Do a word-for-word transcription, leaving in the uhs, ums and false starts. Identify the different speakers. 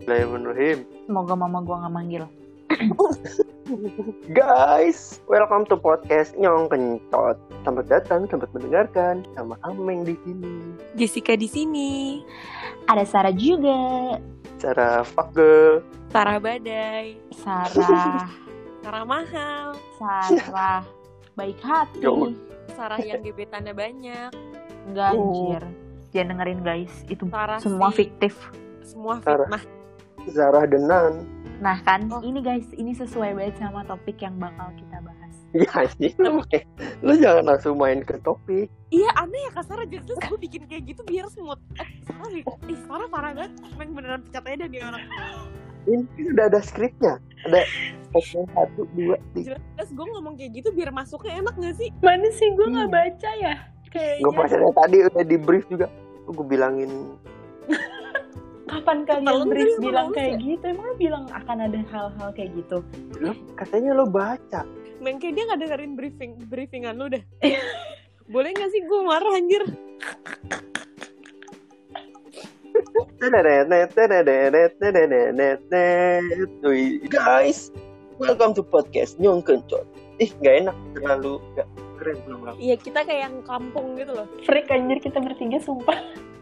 Speaker 1: Bismillahirrahmanirrahim.
Speaker 2: Semoga mama gua nggak manggil.
Speaker 1: Guys, welcome to podcast Nyong Kencot. Selamat datang, selamat mendengarkan. Sama Ameng di sini.
Speaker 3: Jessica di sini.
Speaker 2: Ada Sarah juga.
Speaker 1: Sarah fuck girl.
Speaker 3: Sarah badai.
Speaker 2: Sarah.
Speaker 3: Sarah mahal.
Speaker 2: Sarah baik hati.
Speaker 1: Yo.
Speaker 3: Sarah yang gebetannya banyak.
Speaker 2: Enggak
Speaker 1: Oh.
Speaker 2: anjir. Jangan dengerin guys. Itu
Speaker 3: Sarah
Speaker 2: semua
Speaker 3: sih.
Speaker 2: fiktif.
Speaker 3: Semua
Speaker 1: Sarah.
Speaker 3: fitnah.
Speaker 1: Sarah Denan.
Speaker 2: Nah kan,
Speaker 3: Oh.
Speaker 2: ini guys, ini sesuai banget sama topik yang bakal kita bahas.
Speaker 1: Ya sih, lu, lu jangan langsung main ke topik.
Speaker 3: Iya aneh ya Kak Sarah. Jadi gue bikin kayak gitu biar smooth. Eh Sarah, ih Sarah parah banget. Emang beneran pecat aja dan dia orang.
Speaker 1: Ini udah ada skripnya. Ada segmen satu, dua, tiga.
Speaker 3: Jelas gue ngomong kayak gitu biar masuknya enak gak sih?
Speaker 2: Mana sih gue
Speaker 1: nggak
Speaker 2: baca ya?
Speaker 1: Gue pas ada tadi udah di brief juga. Gue bilangin.
Speaker 2: Kapan
Speaker 3: Kepala
Speaker 2: kalian
Speaker 3: lu
Speaker 2: brief
Speaker 3: tadi
Speaker 2: bilang
Speaker 3: ngomong
Speaker 2: kayak
Speaker 3: sih.
Speaker 2: gitu? Emang lu bilang akan ada hal-hal kayak gitu?
Speaker 1: Lo, katanya lo baca.
Speaker 3: Meng kayak dia gak dengerin briefing briefingan lu dah. Boleh gak sih gue marah anjir?
Speaker 1: Guys, welcome to podcast Nyong Kencot. Ih, gak enak, terlalu gak keren belum.
Speaker 3: Iya kita kayak yang kampung gitu loh.
Speaker 2: Freak anjir kita bertiga sumpah.